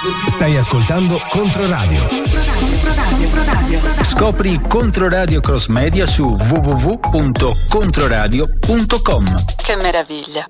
Stai ascoltando Controradio. Scopri Controradio Cross Media su www.controradio.com. Che meraviglia!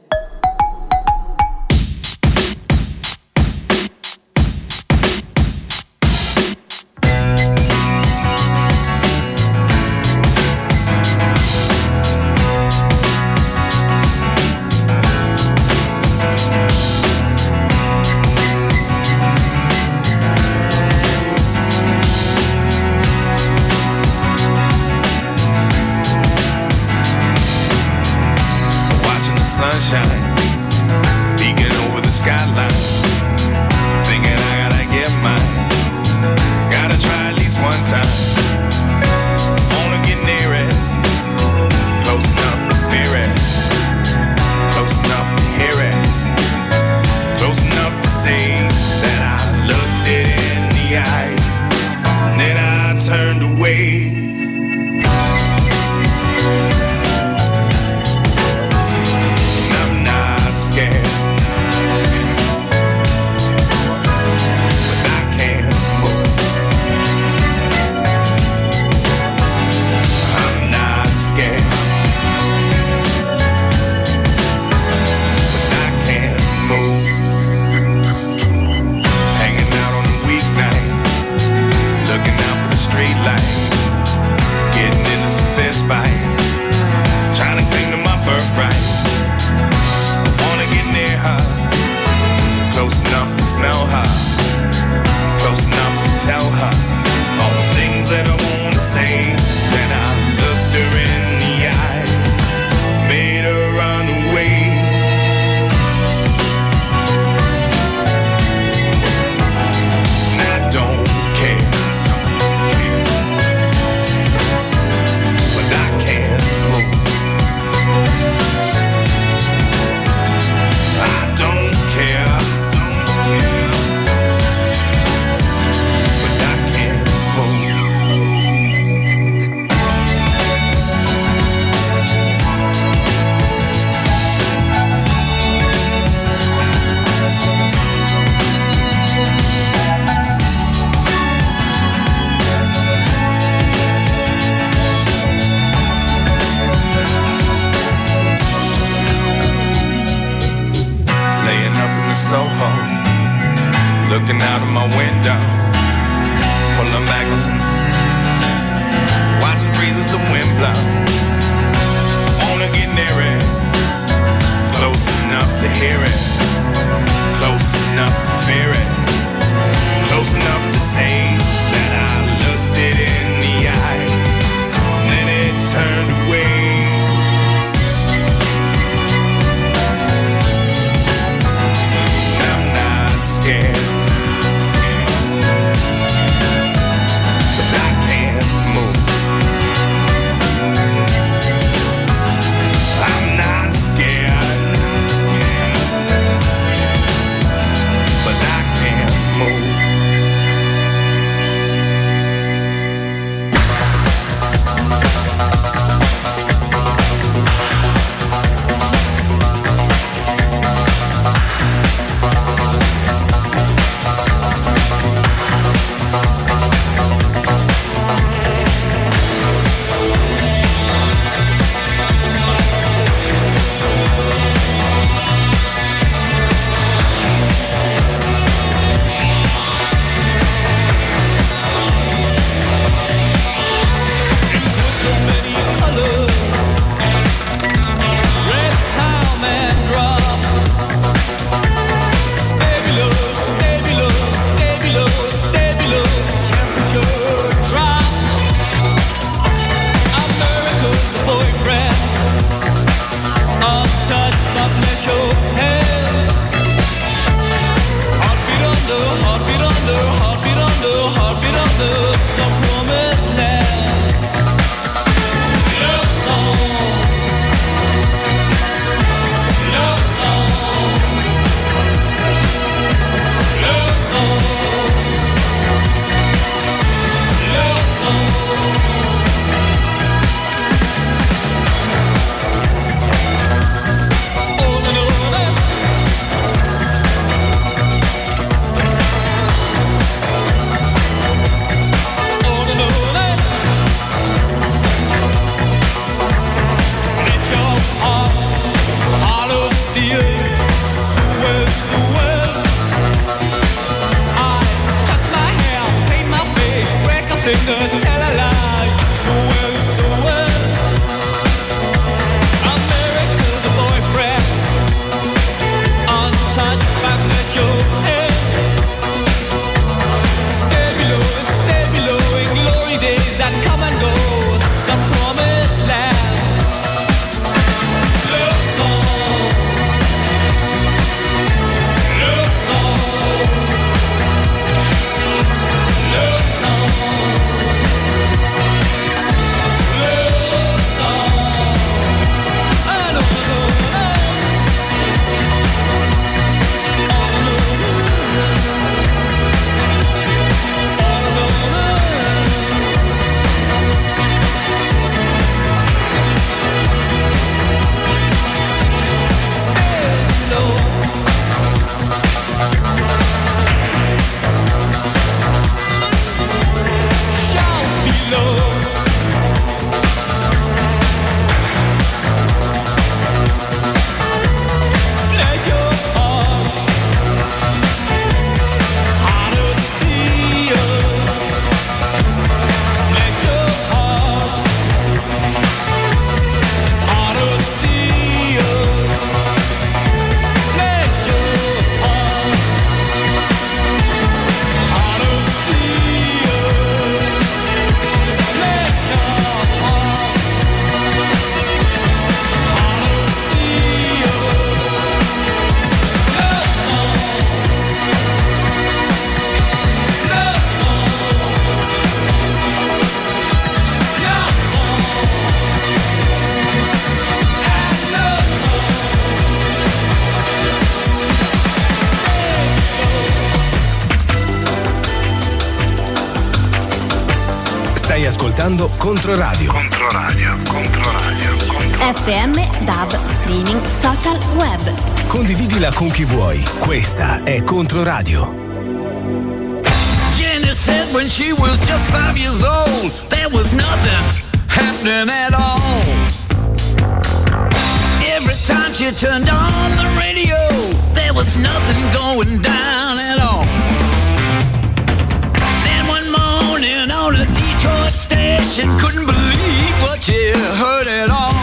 gonna tell a lie. So well, so well. America's a boyfriend, untouched by flesh or hair. Stay below in glory days that come and go. Some promised land. Love song. Love song. Love song. Love song. I don't know. Stai ascoltando Controradio. FM, DAB, streaming, social, web. Condividila con chi vuoi. Questa è Controradio. Jenny said when she was just 5 years old, there was nothing happening at all. Every time she turned on the radio, there was nothing going down at all. Then one morning on a Detroit station, couldn't believe what she heard at all.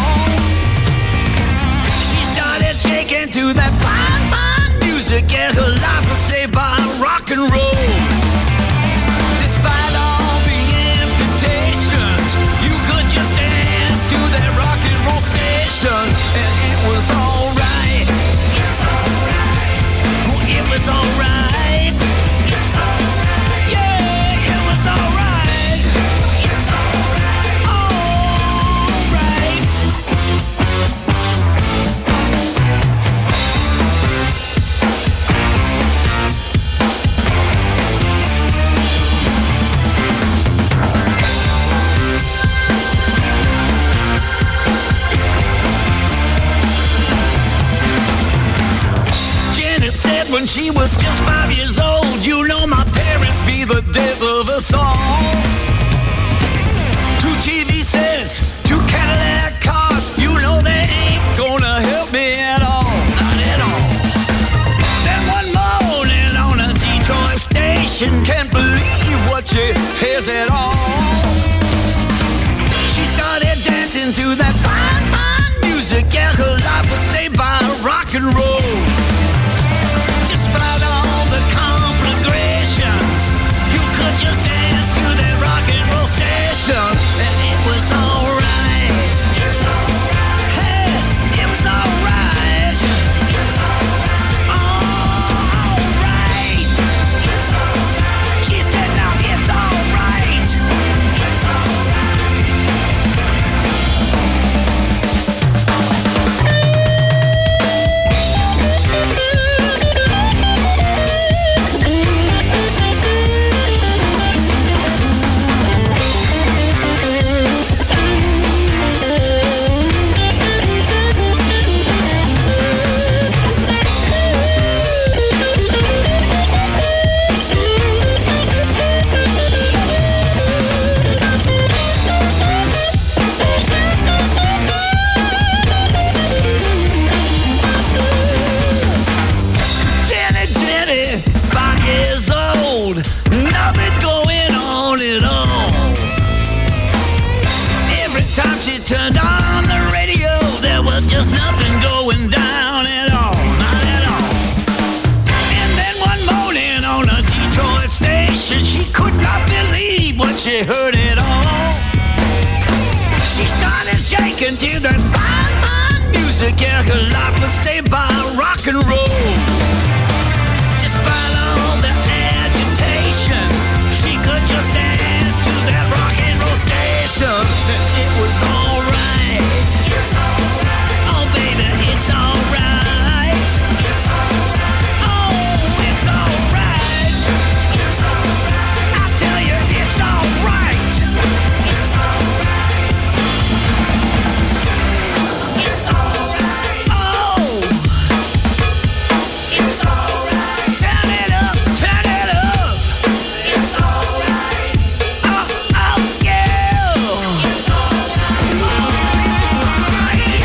She started shaking to that fine, fine music, and her life was saved by rock and roll. Despite all the amputations, you could just dance to that rock and roll station, and it was alright. Oh, it was alright. Yeah, it was alright. Alright. Janet said when she was just 5 years old, you know my parents be the death of us all. 2 TV sets, 2 Cadillac cars, you know they ain't gonna help me at all, not at all. Then one morning on a Detroit station, can't believe what she hears at all. She started dancing to that fine, fine music, and her life was saved by rock and roll. Despite all the conflagrations, you could just dance to that rock and roll station, and it was alright. Hey, it was alright. Alright. She said now it's alright. molestation. She could not believe what she heard at all. She started shaking to that fine, fine music. Yeah, her life was saved by rock and roll. Despite all the agitation, she could just dance to that rock and roll station. It was alright. It's alright. Oh baby, it's alright. It's alright. Oh, it's alright. It's alright. I tell you, it's alright. It's alright. It's alright. Oh, it's alright. Turn it up, turn it up. It's alright. Oh, oh, yeah. It's alright. Oh, yeah.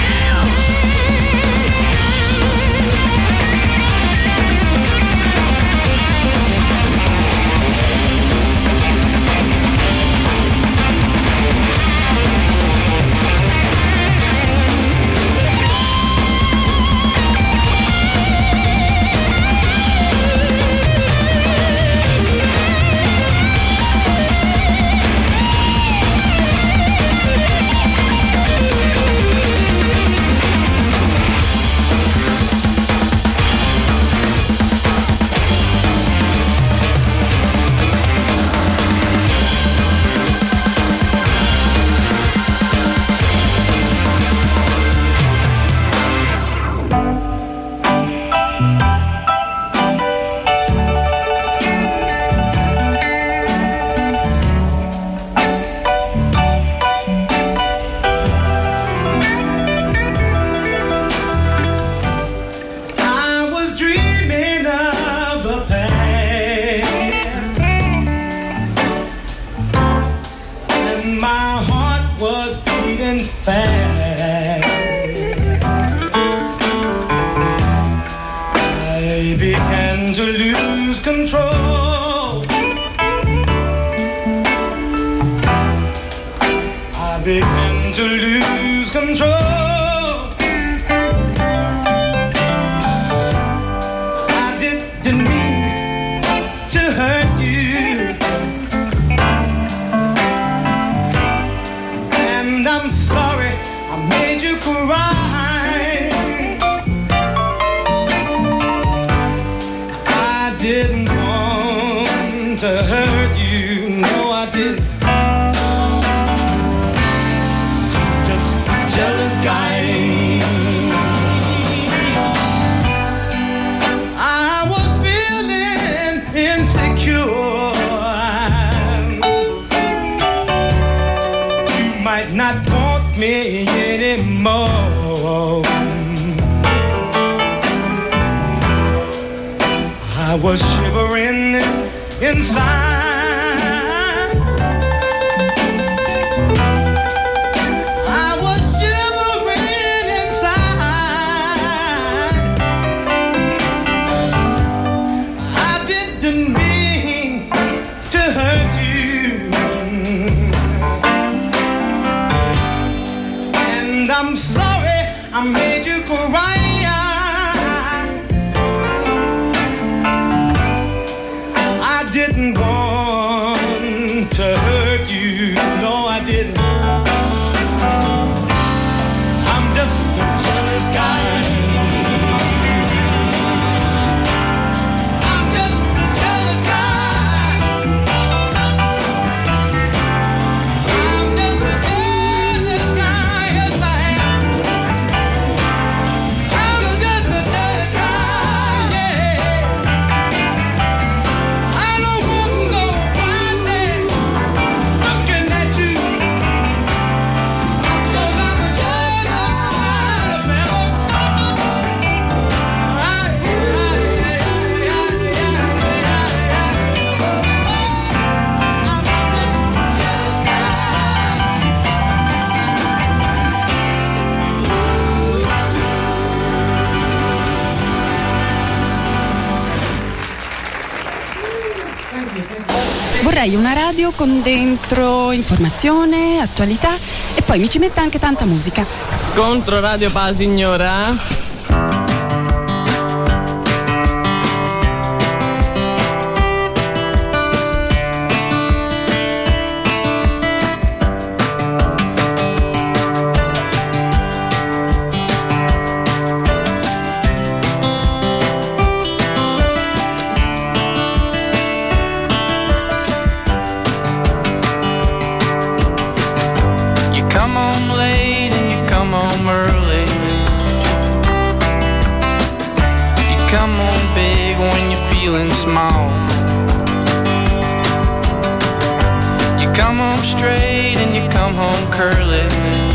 I was dreaming of the past, and my heart was beating fast. I began to lose control. I began to lose control. I didn't mean to hurt you, and I'm sorry I made you cry. I didn't want to hurt you, no I didn't. Just a jealous guy. I was feeling insecure. You might not want me anymore. I was shivering inside. I was shivering inside. I didn't mean to hurt you, and I'm sorry I made you cry. I didn't want to hurt you, no I didn't. I'm just a jealous guy. I'm just a jealous guy. I'm just a jealous guy, yes I am. I'm just a jealous guy, yeah. I don't want no one day looking at you, 'cause I'm a jealous guy, Vorrei una radio con dentro informazione, attualità e poi mi ci metta anche tanta musica. Contro Radio Pa signora? come home straight and you come home curly.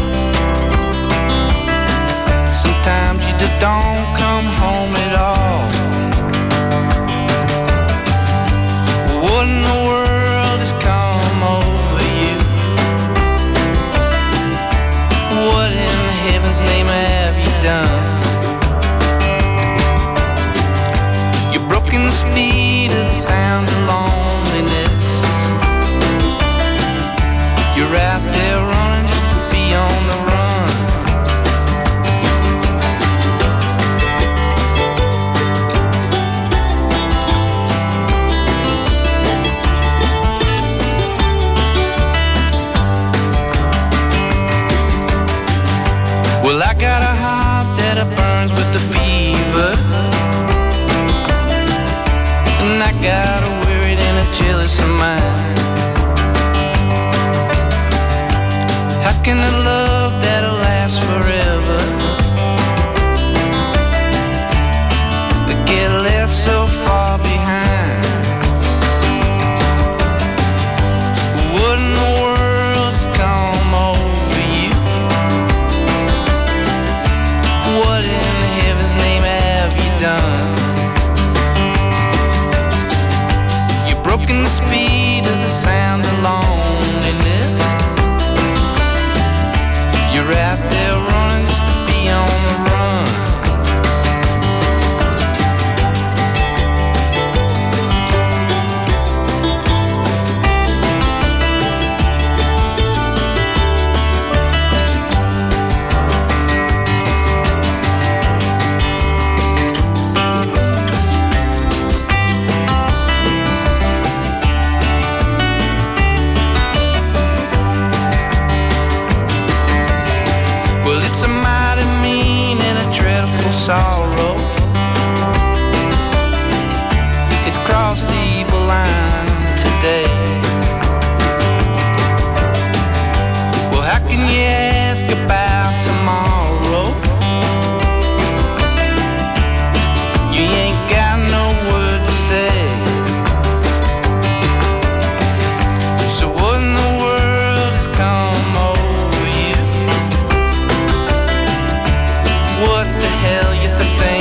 Sometimes you just don't come home at all. What in the world has come over you? What in heaven's name have you done? You're broken the speed of the sound of loneliness. You're out there running just to be on the run. Well, I got a heart that burns with the fever, and I got a worried and a jealous mind. How can a love that'll last forever get left so far behind? What in the world has come over you? What in heaven's name have you done? You've broken the speed of the sound of loneliness. You're out there running just to be on the run. Well, it's a mighty mean and a dreadful sorrow. It's crossed the evil line today. Well, how can you ask about tomorrow? You ain't got no word to say. So what in the world has come over you? What the hell you think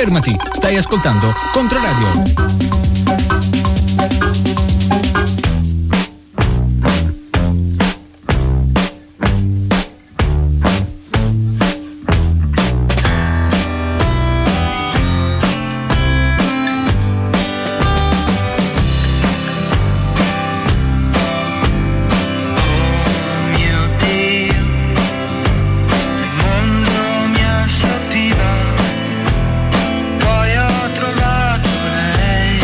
Fermati, stai ascoltando Controradio. Poi ho trovato lei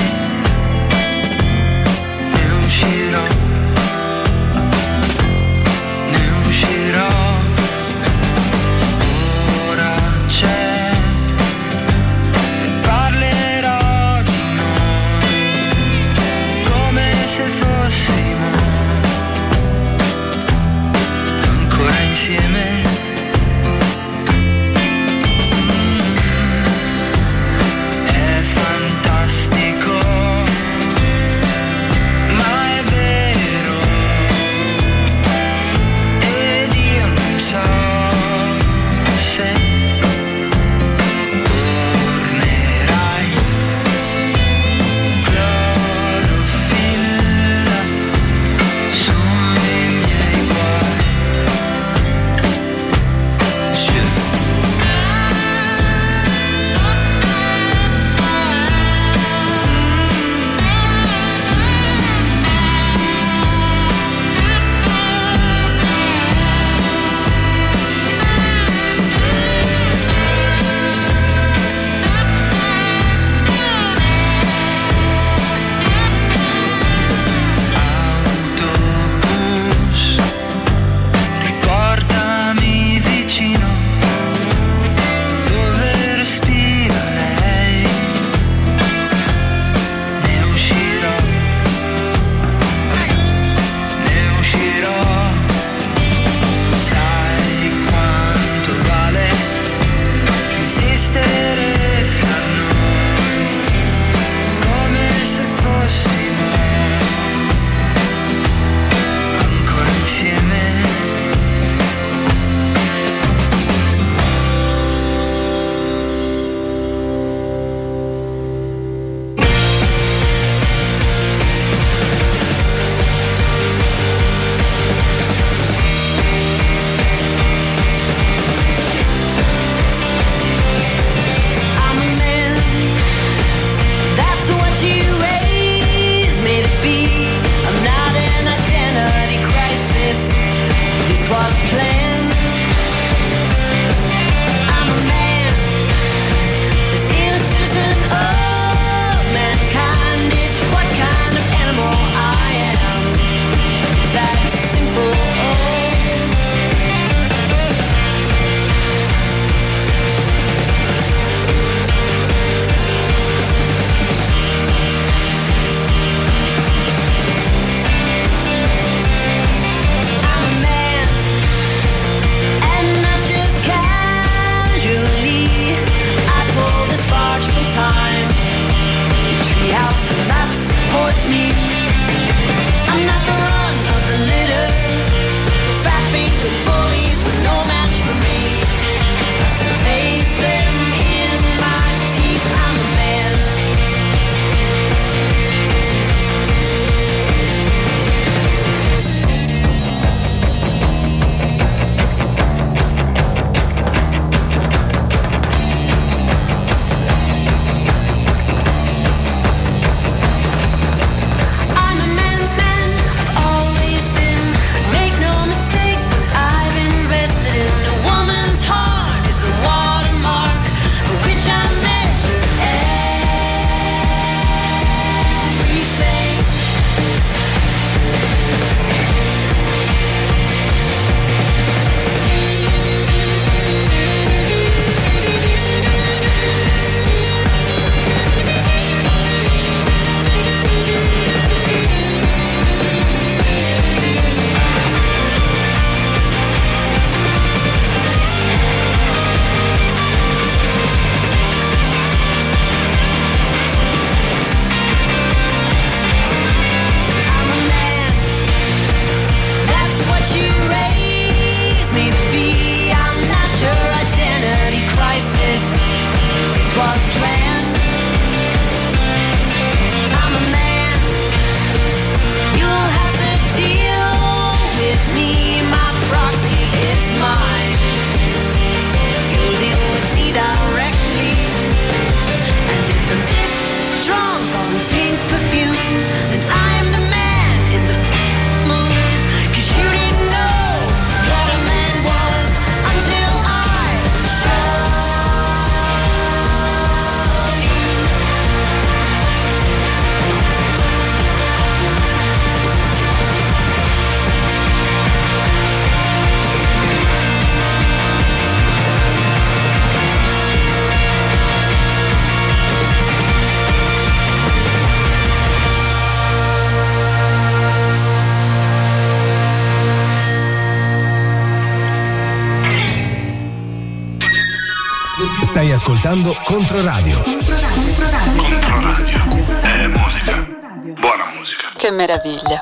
Stai ascoltando Controradio. Controradio è musica. Buona musica. Che meraviglia.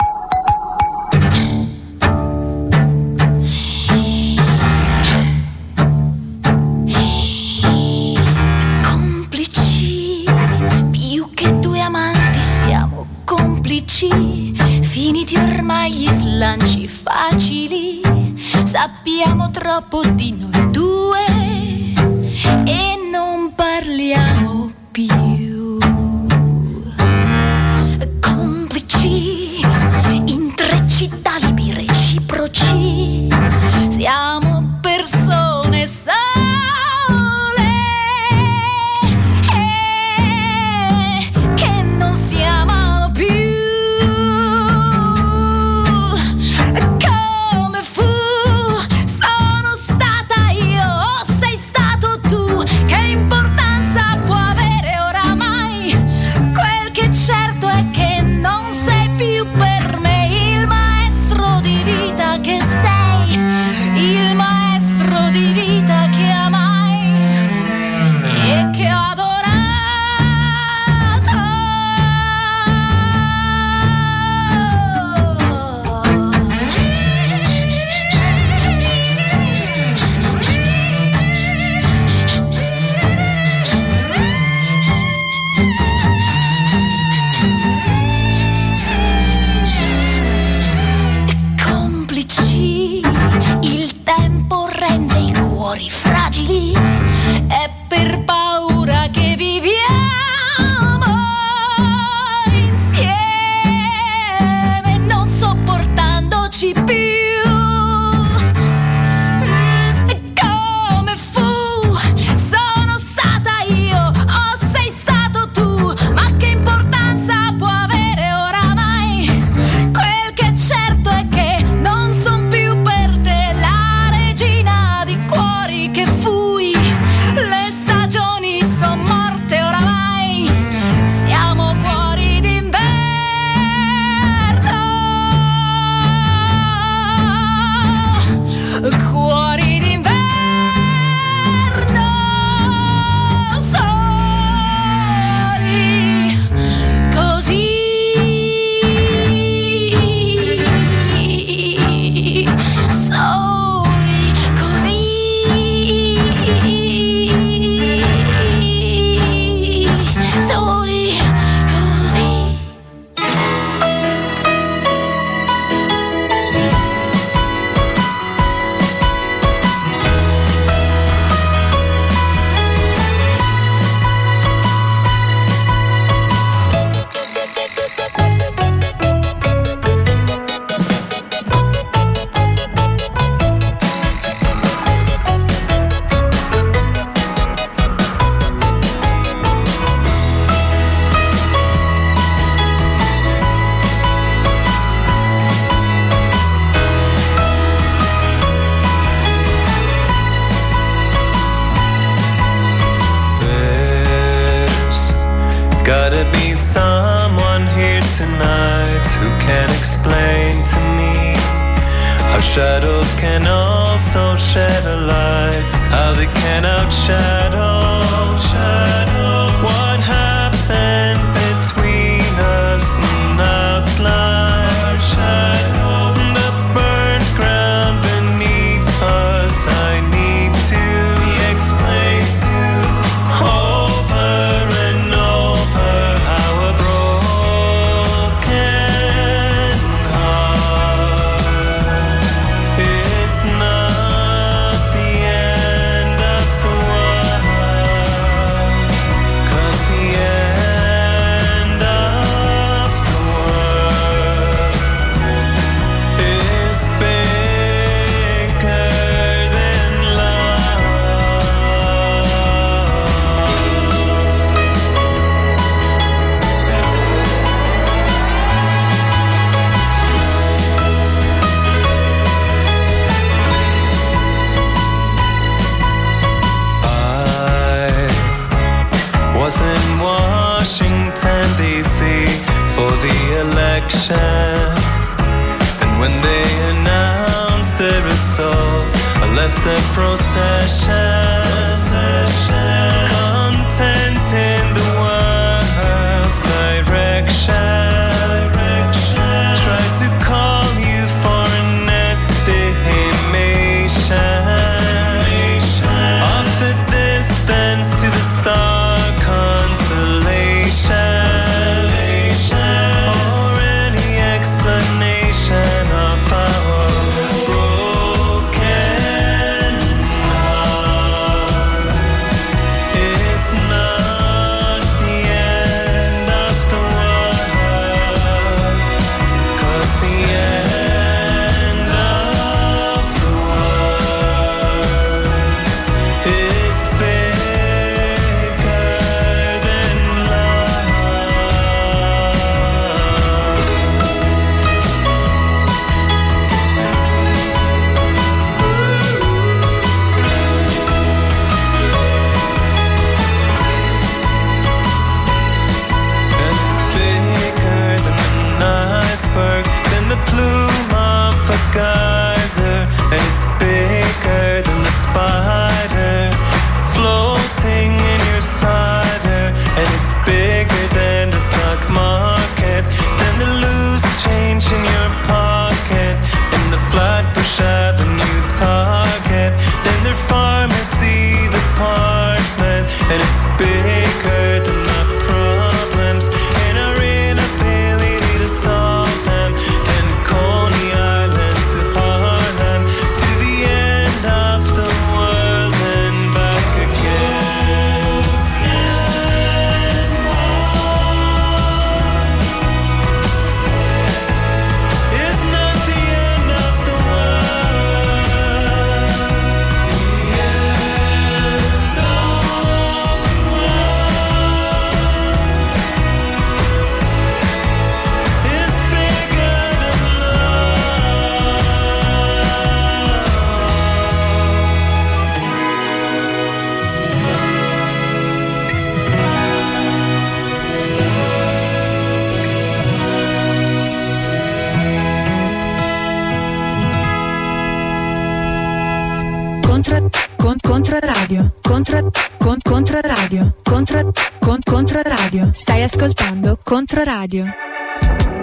Complici, più che due amanti siamo complici. Finiti ormai gli slanci facili, sappiamo troppo di noi due e non parliamo più. Complici, intrecci d'alibi reciproci, siamo persone sole che non si amano più. Come fu, sono stata io o sei stato tu, che importanza può avere oramai? Quel che è certo è che non sei più per me il maestro di vita che sei, il maestro di vita che amai e che ho adorato. Complici, il tempo rende i cuori fragili, è per paura che viviamo insieme, non sopportandoci più. Come fu, sono stata io o sei stato tu, ma che importanza può avere oramai? Quel che è certo è che non son più per te la regina di cuori che fui. Le stagioni son morte oramai, siamo cuori d'inverno. Cuori d'inverno, soli, così, soli, così, soli, così. There's gotta be someone here tonight who can explain to me how shadows can also shed a light, how they can outshadow what happened between us and outline the burnt ground beneath us. I need to explain to over and over how a broken heart is not the end of the world, 'cause the end of the world is bigger than love. I was in Washington, D.C. for the election, and when they announced the results, I left the procession. Controradio. Stai ascoltando Controradio.